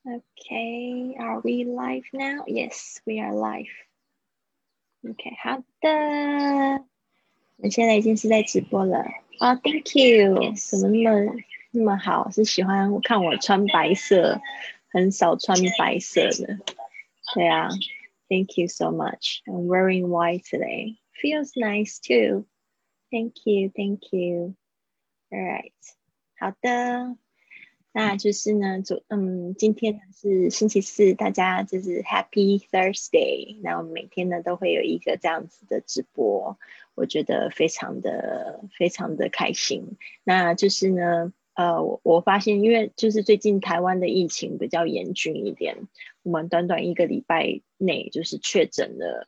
Okay, are we live now? Yes, we are live. Okay, 好的，我们现在已经是在直播了。Thank you， 怎么那么好？是喜欢我看我穿白色，很少穿白色的。对啊 ，Thank you so much. I'm wearing white today. Feels nice too. Thank you. All right， 好的。那就是呢，今天呢是星期四，大家就是 Happy Thursday。那我们每天呢都会有一个这样子的直播，我觉得非常的开心。那就是呢，我发现，因为就是最近台湾的疫情比较严峻一点，我们短短1个礼拜内就是确诊了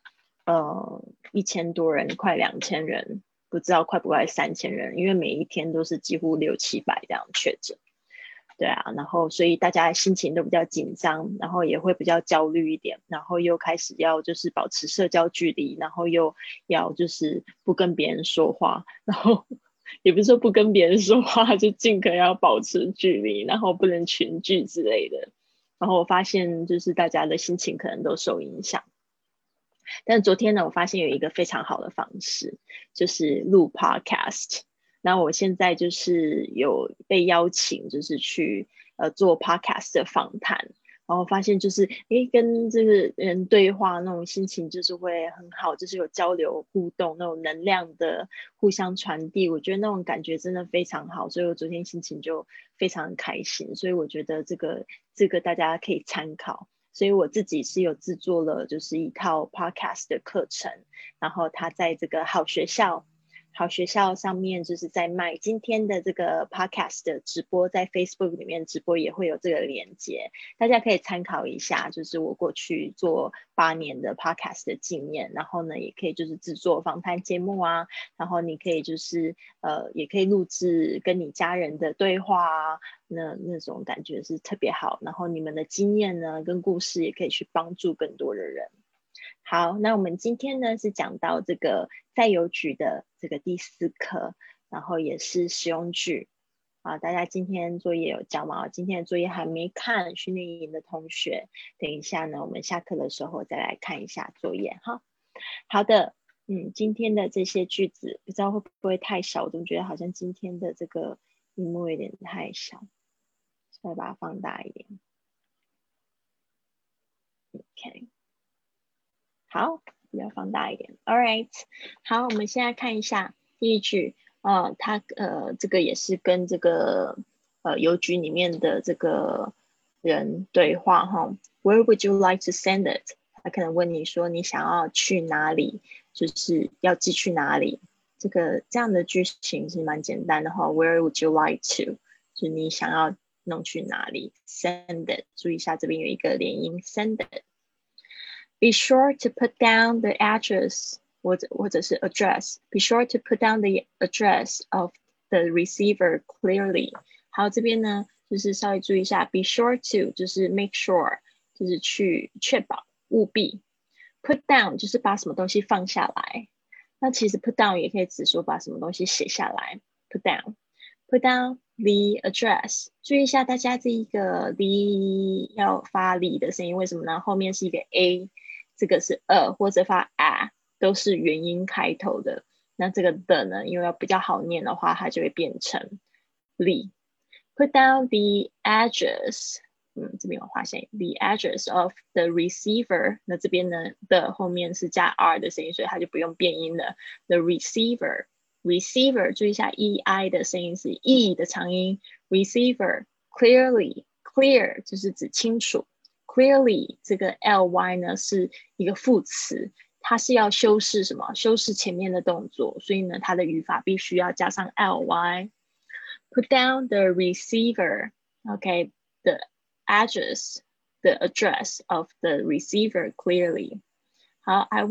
1000多人，快2000人，不知道快不快3000人，因为每一天都是几乎600-700这样确诊。对啊，然后所以大家心情都比较紧张，然后也会比较焦虑一点，然后又开始要就是保持社交距离，然后又要就是不跟别人说话，然后也不是说不跟别人说话，就尽可能要保持距离，然后不能群聚之类的。然后我发现就是大家的心情可能都受影响。但是昨天呢，我发现有一个非常好的方式，就是录 podcast。那我现在就是有被邀请，就是去做 podcast 的访谈，然后发现就是跟这个人对话那种心情就是会很好，就是有交流互动那种能量的互相传递，我觉得那种感觉真的非常好，所以我昨天心情就非常开心，所以我觉得这个大家可以参考。所以我自己是有制作了就是一套 podcast 的课程，然后它在这个好学校上面就是在卖今天的这个 podcast 的直播，在 Facebook 里面直播也会有这个连接，大家可以参考一下，就是我过去做8年的 podcast 的经验，然后呢也可以就是制作访谈节目啊，然后你可以就是也可以录制跟你家人的对话啊，那种感觉是特别好，然后你们的经验呢跟故事也可以去帮助更多的人。好，那我们今天呢是讲到这个在邮局的这个第4课，然后也是实用句。大家今天作业有交吗？今天的作业还没看训练营的同学，等一下呢我们下课的时候再来看一下作业哈。好的，今天的这些句子不知道会不会太小，我总觉得好像今天的这个荧幕有点太小，所以把它放大一点。OK。好，比较放大一点。All right， 好，我们现在看一下第一句，它这个也是跟这个邮局里面的这个人对话哈。Where would you like to send it？ 他可能问你说你想要去哪里，就是要寄去哪里。这样的句型是蛮简单的哈。Where would you like to？ 就是你想要弄去哪里 ？Send it， 注意一下这边有一个连音 ，send it。Be sure to put down the address 或者是 address. Be sure to put down the address of the receiver clearly. 好，这边呢就是稍微注意一下 ，be sure to 就是 make sure 就是去确保务必 ，put down 就是把什么东西放下来。那其实 put down 也可以指说把什么东西写下来 ，put down。Put down the address。注意一下，大家这一个 the 要发li的声音，为什么呢？后面是一个 a， 这个是或者发 a， 都是元音开头的。那这个的呢，因为要比较好念的话，它就会变成 li。Put down the address。这边有发现 the address of the receiver。那这边呢的后面是加 r 的声音，所以它就不用变音了。The receiver。Receiver 注意一下 ei 的声音是 e 的长音 receiver clearly clear 就是指清楚 clearly 这个 ly 呢是一个副词，它是要修饰什么？修饰前面的动作，所以呢它的语法必须要加上 ly。 Put down the receiver okay the address the address of the receiver clearly。 好 I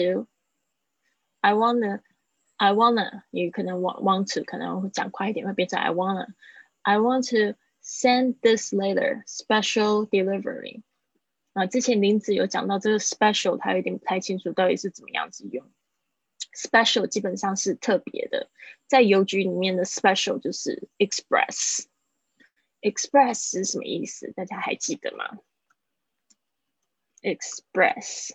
wanna 也可能 want to 可能会讲快一点会变成 I want to send this letter special delivery。之前林子有讲到这个 special， 他有点不太清楚到底是怎么样子用。special 基本上是特别的，在邮局里面的 special 就是 express express 是什么意思？大家还记得吗？express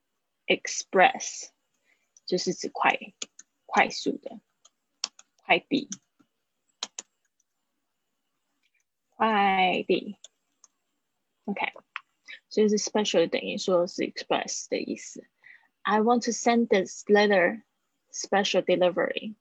就是指快速的快递。OK， 所以是 special 等于说是 express 的意思。I want to send this letter special delivery.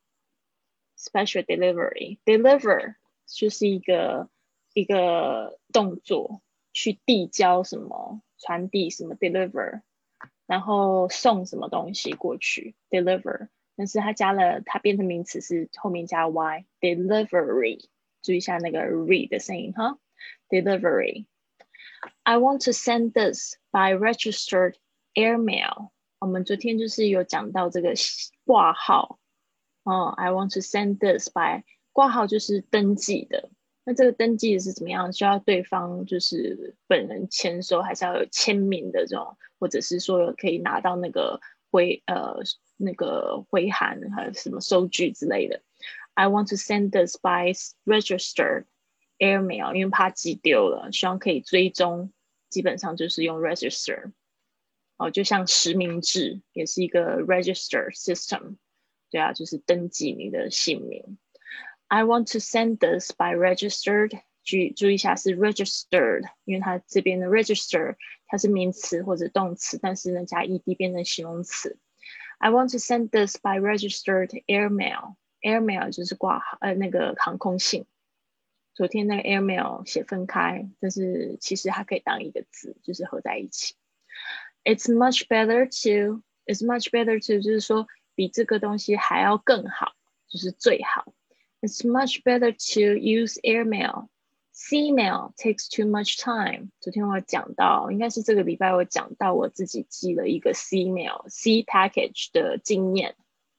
Special delivery deliver 就是一个动作，去递交什么，传递什么 deliver， 然后送什么东西过去 deliver， 但是它变成名词是后面加 y delivery， 注意一下那个 re 的声音哈 delivery。 I want to send this by registered airmail。 我们昨天就是有讲到这个挂号I want to send this by 挂号就是登记的，那这个登记是怎么样？需要对方就是本人签收，还是要有签名的这种，或者是说可以拿到那个回函还有什么收据之类的。I want to send this by registered airmail， 因为怕寄丢了，希望可以追踪，基本上就是用 register。就像实名制也是一个 register system。对啊，就是登记你的姓名。I want to send this by registered， 注意一下是 registered， 因为它这边的 register 它是名词或者动词，但是呢加 ed 变成形容词。I want to send this by registered airmail。 airmail 就是那个航空信。昨天那个 airmail 写分开，但是其实它可以当一个字，就是合在一起。It's much better to 就是说比这个东西还要更好，就是最好。It's much better to use airmail. Sea mail takes too much time. 昨天我讲到，应该是这个礼拜我讲到我自己寄了一个 sea package 的经验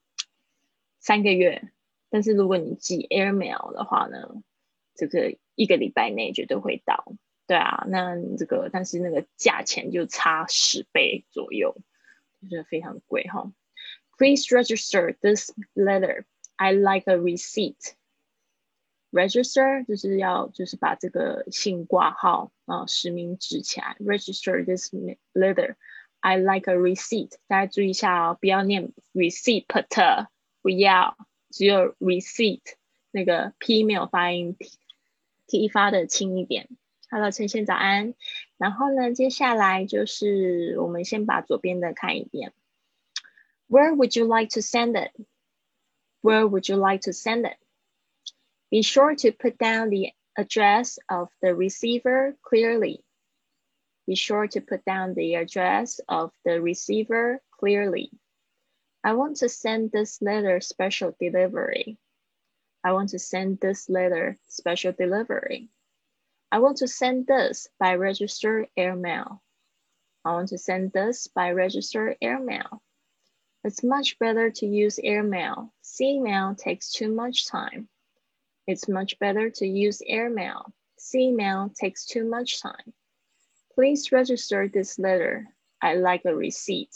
，3个月。但是如果你寄 airmail 的话呢，这个1个礼拜内绝对会到。对啊，那但是那个价钱就差10倍左右，就是非常贵哈。Please register this letter. I like a receipt. Register 就是把这个信挂号实名制起来。Register this letter. I like a receipt. 大家注意一下不要念 receipt， 不要，只有 receipt， 那个 p 没有发音 ，t 发的轻一点。Hello， 陈宪早安。然后呢，接下来就是我们先把左边的看一遍。Where would you like to send it? Where would you like to send it? Be sure to put down the address of the receiver clearly. Be sure to put down the address of the receiver clearly. I want to send this letter special delivery. I want to send this letter special delivery. I want to send this by registered airmail. I want to send this by registered airmail. It's much better to use airmail. Sea mail takes too much time. It's much better to use airmail. Sea mail takes too much time. Please register this letter. I like a receipt.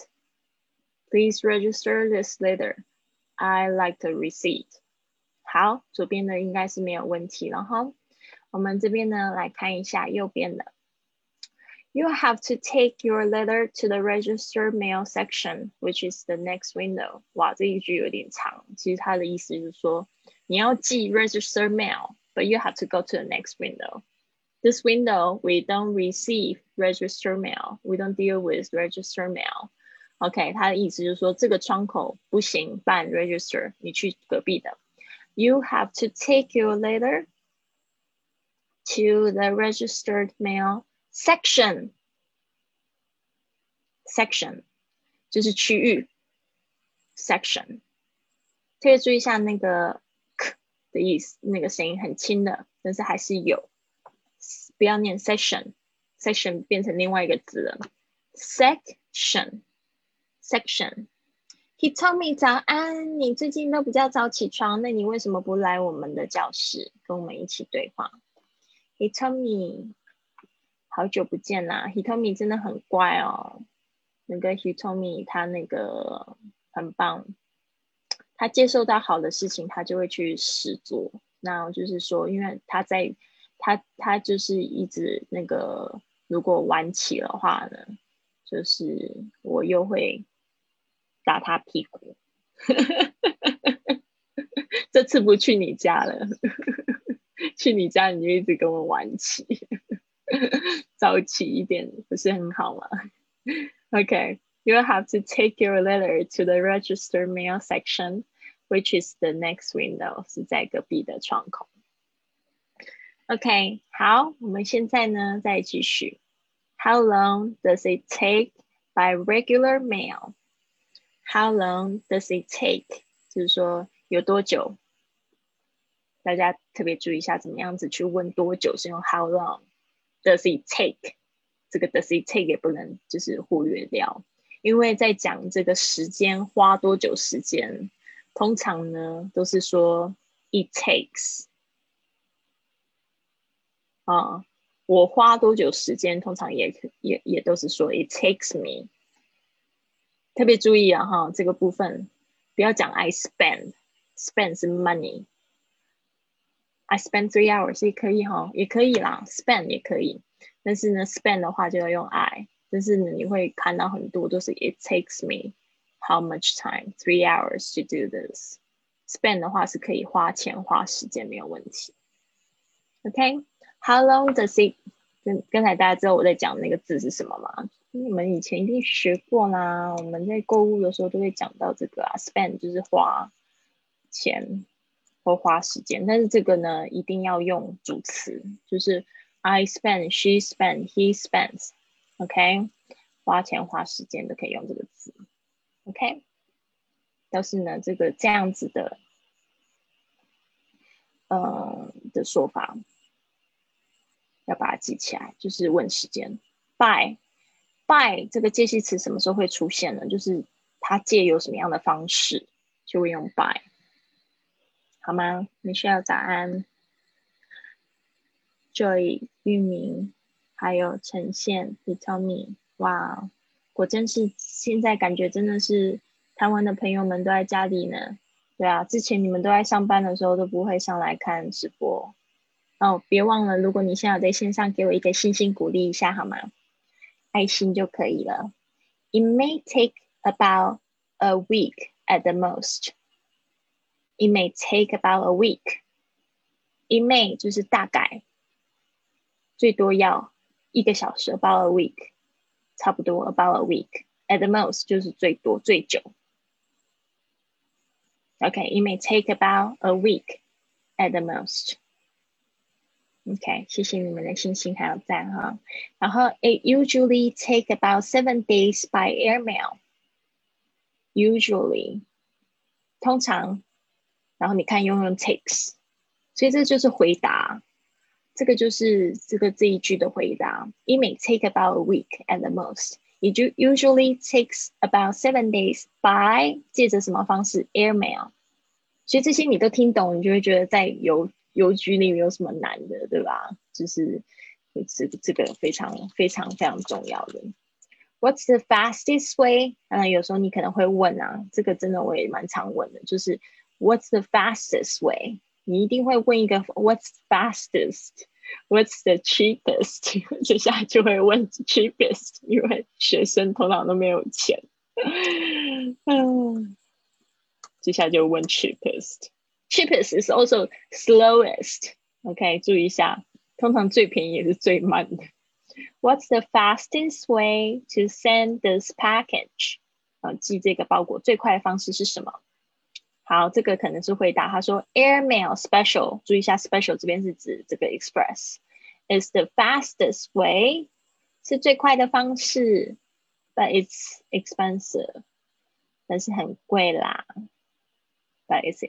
Please register this letter. I like the receipt. 好，左边的应该是没有问题了哈。我们这边呢来看一下右边的。You have to take your letter to the registered mail section, which is the next window. 哇，这一句有点长。其实它的意思就是说，你要寄 registered mail, but you have to go to the next window. This window, we don't receive registered mail. We don't deal with registered mail. OK， 它的意思就是说，这个窗口不行办 register， 你去隔壁的。You have to take your letter to the registered mail section. Section 就是区域 section， 特别注意一下那个 k 的意思，那个声音很轻的，但是还是有，不要念 section 变成另外一个字了。section Hitomi 早安，你最近都比较早起床，那你为什么不来我们的教室跟我们一起对话？ Hitomi 好久不见啦， Hitomi 真的很乖哦。那个 Hitomi 他那个很棒，他接受到好的事情他就会去实做。那就是说因为他在它就是一直那个，如果晚起的话呢，就是我又会打他屁股。这次不去你家了，去你家你就一直跟我晚起，早起一点不是很好吗？Okay, you have to take your letter to the register mail section, which is the next window， 是在隔壁的窗口。OK， 好，我们现在呢再继续。How long does it take by regular mail? How long does it take? 就是说有多久？大家特别注意一下，怎么样子去问多久是用 how long does it take？ 这个 does it take 也不能就是忽略掉，因为在讲这个时间花多久时间，通常呢都是说 it takes。我花多久时间，通常也都是说 it takes me。特别注意啊哈，这个部分不要讲 I spend 是 money。I spend 3 hours 也可以哈，也可以啦 ，spend 也可以，但是呢 spend 的话就要用 I， 但是呢你会看到很多都是 it takes me how much time 3 hours to do this。spend 的话是可以花钱花时间没有问题。OK，how long does it？ 刚才大家知道我在讲那个字是什么吗？你们以前一定学过啦，我们在购物的时候都会讲到这个啊 ，spend 就是花钱或花时间，但是这个呢一定要用主词，就是 I spend, she spend, he spends。OK， 花钱花时间都可以用这个字。OK， 但是呢这样子的的说法要把它记起来，就是问时间。by 这个介系词什么时候会出现呢？就是它借由什么样的方式就会用 by， 好吗？你需要早安 Joy 玉明还有陈宪 Hitomi， 哇，果真是现在感觉真的是台湾的朋友们都在家里呢。对啊，之前你们都在上班的时候都不会上来看直播哦。别忘了，如果你现在有在线上，给我一个星星鼓励一下好吗？爱心就可以了。It may take about a week at the most. It may take about a week. It may 就是大概，最多要1个小时 about a week， 差不多 about a week. At the most 就是最多最久。Okay, it may take about a week at the most. OK， 谢谢你们的星星还有赞哈。然后 it usually take about 7 days by airmail. Usually 通常，然后你看用 takes， 所以这就是回答，这个就是这一句的回答。It may take about a week at the most. It usually takes about 7 days by 借着什么方式 airmail。所以这些你都听懂，你就会觉得在邮局里没有什么难的，对吧？就是这个非常非常非常重要的。What's the fastest way？ 有时候你可能会问啊，这个真的我也蛮常问的，就是 What's the fastest way？ 你一定会问一个 What's fastest？What's the cheapest？ 接下来就会问 cheapest， 因为学生通常都没有钱。接下来就问 cheapest。cheapest is also slowest。OK， 注意一下，通常最便宜也是最慢的。What's the fastest way to send this package？ 寄这个包裹最快的方式是什么？好，这个可能是回答。他说 Airmail special， 注意一下 special 这边是指这个 express is the fastest way， 是最快的方式 ，but it's expensive， 但是很贵啦 ，but it's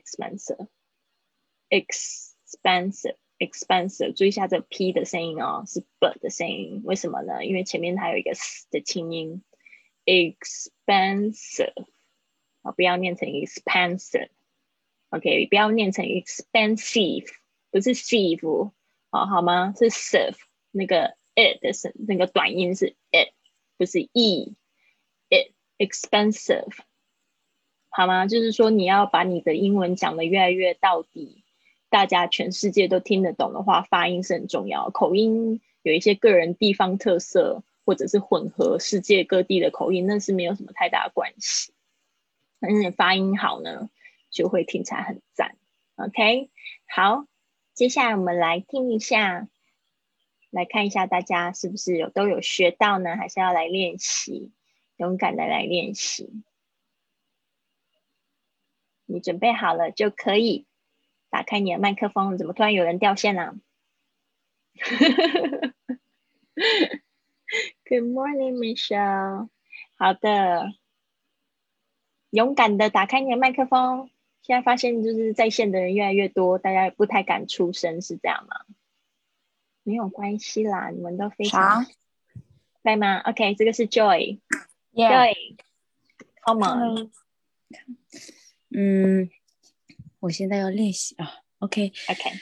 expensive，注意一下这 P 的声音哦，是 B 的声音，为什么呢？因为前面还有一个 S 的清音 ，expensive， 不要念成 expensive。OK， 不要念成 expensive， 不是 sieve， 好吗？是 sieve， 那个 it 的那个短音是 it， 不是 it expensive， 好吗？就是说你要把你的英文讲得越来越到底， 大家全世界都听得懂的话，发音是很重要的。口音有一些个人地方特色，或者是混合世界各地的口音，那是没有什么太大的关系。但是你发音好呢，就会听起来很赞。OK， 好，接下来我们来听一下，来看一下大家是不是都有学到呢？还是要来练习？勇敢的来练习。你准备好了就可以打开你的麦克风。怎么突然有人掉线了？Good morning, Michelle。好的，勇敢的打开你的麦克风。现在发现就是在线的人越来越多，大家也不太敢出声，是这样吗？没有关系啦，你们都非常在吗 ？OK， 这个是 Joy。Joy，Come on。 我现在要练习啊。OK。 OK。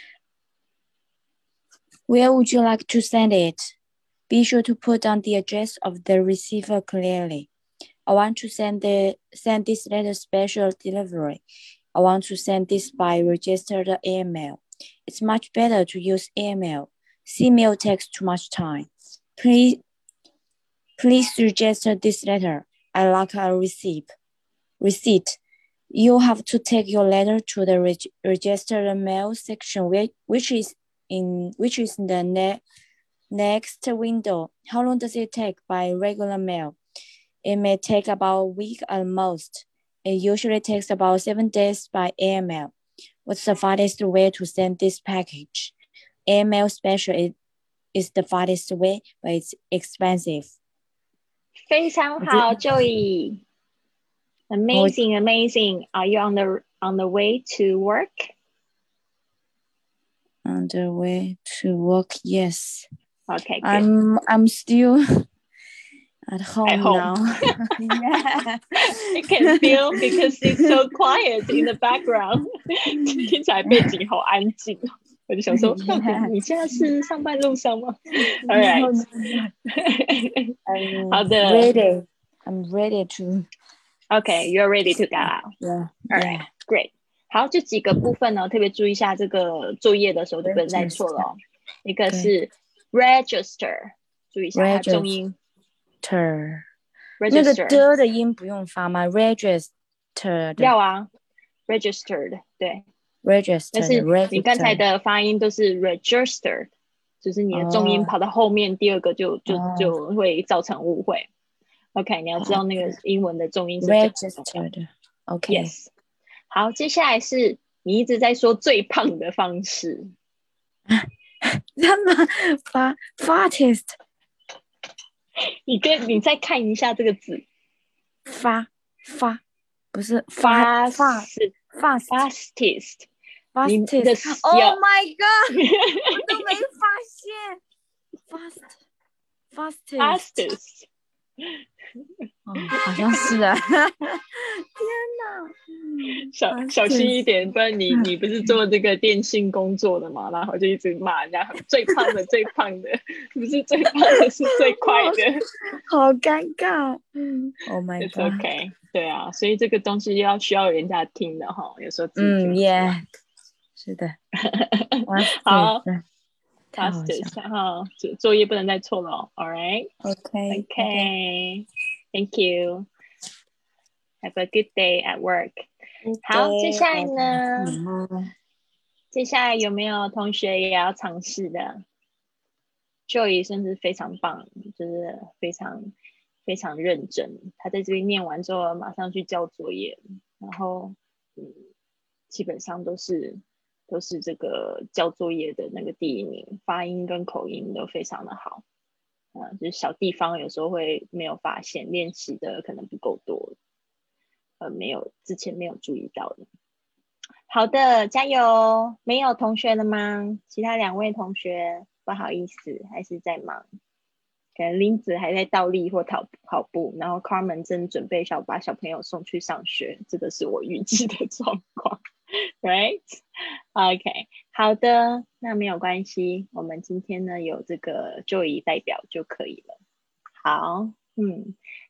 Where would you like to send it? Be sure to put down the address of the receiver clearly. I want to send this letter special delivery. I want to send this by registered email. It's much better to use email. Email takes too much time. Please register this letter. I like a receipt. You have to take your letter to the registered mail section, which is in the next window. How long does it take by regular mail? It may take about a week at most. It usually takes about 7 days by airmail. What's the fastest way to send this package? Airmail special is the fastest way, but it's expensive. 非常好 Joey。 Amazing. Are you on the way to work? On the way to work, yes. Okay, good. I'm still at home, home. now. Yeah. I can feel because it's so quiet in the background. 听起来背景好安静。我就想说，到底你现在是上班路上吗？ All right. 好的。 I'm ready to. Okay, you're ready to go out. Yeah. All right, great. 好，这几个部分呢，特别注意一下，这个作业的时候就不能再错了哦。一个是 register， 注意一下它重音。 那个的音不用发吗 ？Registered 要啊 ，registered 对。 Registered， 但是你刚才的发音都是 registered， 就是你的重音跑到后面，第二个就会造成误会。OK， 你要知道那个英文的重音是 registered。OK。Yes。 好，接下来是你一直在说最胖的方式。 Fattest。 你再看一下这个字。 发不是 fastest。 Oh my god！ 我都没发现。 fastest。 好像是啊。天哪！小心一点，不然你不是做这个电信工作的嘛，然后就一直骂人家最胖的，不是最胖的，是最快的。 好尴尬。Oh my god。 It's okay。 对啊，所以这个东西需要人家听的哈，有时候自己听不出来。 是的。 好。好，作业不能再错了哦。All right. Okay. Thank you. Have a good day at work. 好，接下来呢？接下来有没有同学也要尝试的？ Joey 甚至非常棒，就是非常非常认真。他在这边念完之后，马上去交作业，然后基本上都是这个交作业的那个第一名，发音跟口音都非常的好。就是小地方有时候会没有发现，练习的可能不够多，之前没有注意到的。好的，加油！没有同学了吗？其他2位同学不好意思，还是在忙。可能林子还在倒立或跑步，然后 Carmen 正准备把小朋友送去上学，这个是我预计的状况。Right? OK， 好的，那没有关系，我们今天呢有这个Joey代表就可以了。好，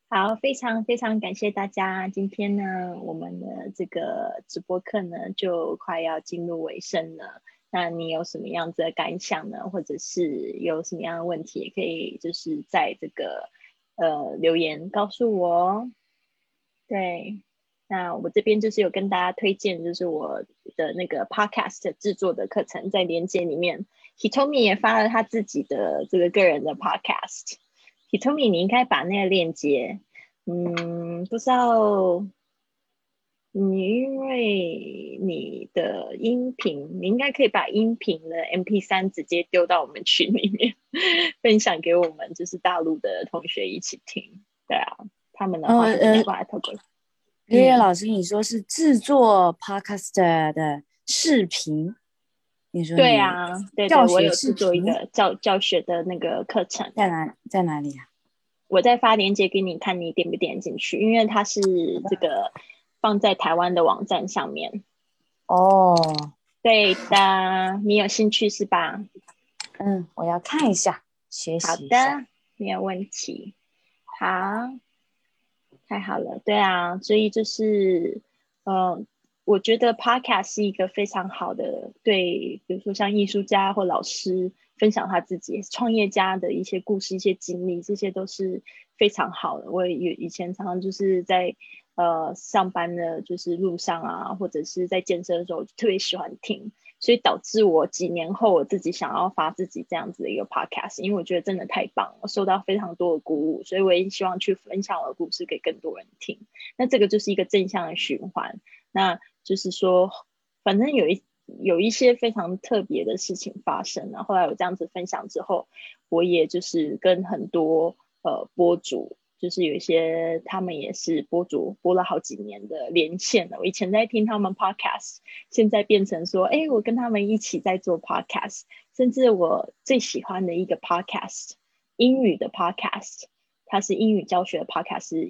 好，非常非常感谢大家。今天呢，我们的这个直播课呢，就快要进入尾声了。那你有什么样子的感想呢？或者是有什么样的问题，也可以就是在这个留言告诉我哦。对，那我这边就是有跟大家推荐，就是我的那个 podcast 制作的课程，在连接里面，Hitomi 也发了他自己的这个个人的 podcast。Hitomi，你应该把那个链接，不知道你因为你的音频，你应该可以把音频的 MP3直接丢到我们群里面，分享给我们就是大陆的同学一起听。对啊，他们的话是没有办法透过。 月月老师，你说是制作 podcast 的视频，你说你对啊，对对， 教学我有制作一视频个教学的那个课程， 在哪里啊？ 我再发链接给你看，你点不点进去？因为它是这个放在台湾的网站上面。 哦， 对的，你有兴趣是吧？ 我要看一下，学好习一下。 的，没有问题。好，太好了，对啊，所以就是，呃，我觉得 podcast 是一个非常好的，对，比如说像艺术家或老师分享他自己创业家的一些故事、一些经历，这些都是非常好的。我以前常常就是在上班的，就是路上啊，或者是在健身的时候，特别喜欢听。所以导致我几年后我自己想要发自己这样子的一个 podcast，因为我觉得真的太棒了，受到非常多的鼓舞，所以我也希望去分享我的故事给更多人听。那这个就是一个正向的循环。那就是说，反正有一些非常特别的事情发生了。后来我这样子分享之后，我也就是跟很多播主。就是有一些他们也是播主，播了好几年的连线了。我以前在听他们 podcast，现在变成说，哎，我跟他们一起在做 podcast，甚至我最喜欢的一个 podcast，英语的 podcast，它是英语教学的 podcast，是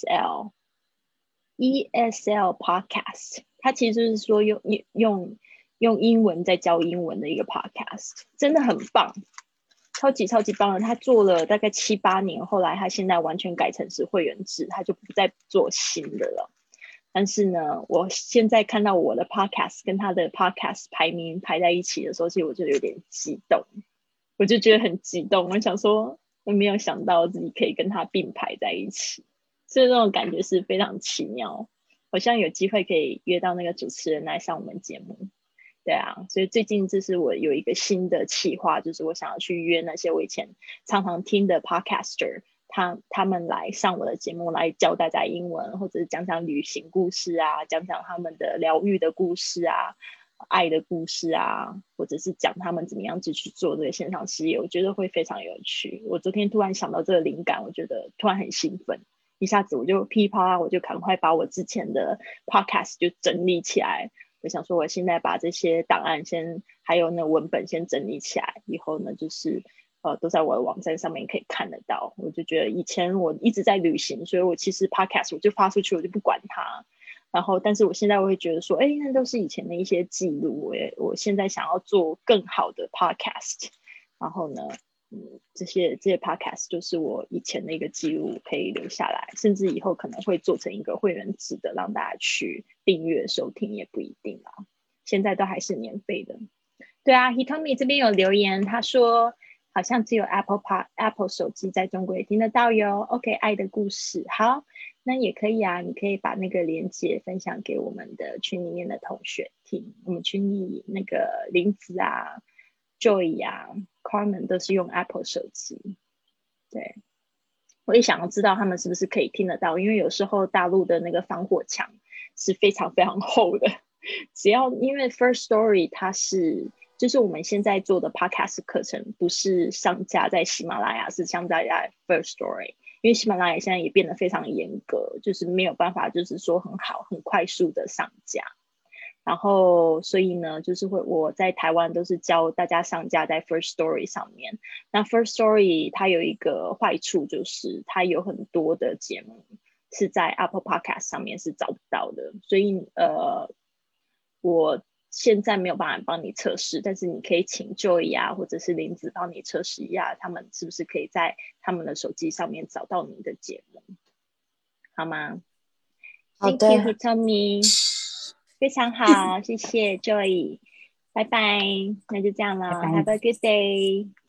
ESL podcast，它其实就是说用英文在教英文的一个 podcast，真的很棒。超级超级棒的，他做了大概7、8年，后来他现在完全改成是会员制，他就不再做新的了。但是呢，我现在看到我的 podcast 跟他的 podcast 排名排在一起的时候，其实我就有点激动，我就觉得很激动。我想说，我没有想到自己可以跟他并排在一起，所以那种感觉是非常奇妙。好像有机会可以约到那个主持人来上我们节目。对啊，所以最近这是我有一个新的企划，就是我想要去约那些我以前常常听的 podcaster，他们来上我的节目，来教大家英文，或者是讲讲旅行故事啊，讲讲他们的疗愈的故事啊，爱的故事啊，或者是讲他们怎么样子去做这个线上事业，我觉得会非常有趣。我昨天突然想到这个灵感，我觉得突然很兴奋，一下子我就噼啪，我就赶快把我之前的 podcast 就整理起来。我想说，我现在把这些档案还有那文本先整理起来，以后呢，就是都在我的网站上面可以看得到。我就觉得以前我一直在旅行，所以我其实 podcast 我就发出去，我就不管它。然后，但是我现在我会觉得说，哎，那都是以前的一些记录。我现在想要做更好的 podcast，然后呢，这些 podcast 就是我以前的一个记录，可以留下来，甚至以后可能会做成一个会员制的，让大家去订阅收听，也不一定啊。现在都还是免费的。对啊，Hitomi 这边有留言，他说好像只有 Apple 手机在中国也听得到哟。OK，爱的故事，好，那也可以啊，你可以把那个链接分享给我们的群里面的同学听。我们群里那个林子啊、Joy 啊、Carmen 都是用 Apple 手机。对，我也想要知道他们是不是可以听得到，因为有时候大陆的那个防火墙是非常非常厚的。只要因为 First Story 它是就是我们现在做的 Podcast 课程，不是上架在喜马拉雅，是上架在 First Story。因为喜马拉雅现在也变得非常严格，就是没有办法，就是说很好、很快速的上架。然后，所以呢，就是我在台湾都是教大家上架在 First Story 上面。那 First Story 它有一个坏处，就是它有很多的节目是在 Apple Podcast 上面是找不到的。所以我现在没有办法帮你测试，但是你可以请 Joy 啊，或者是林子帮你测试一下，他们是不是可以在他们的手机上面找到你的节目。 好吗好 ？Thank you, 的， Hitomi，非常好，谢谢 Joy，拜拜，那就这样了拜拜。 ，Have a good day。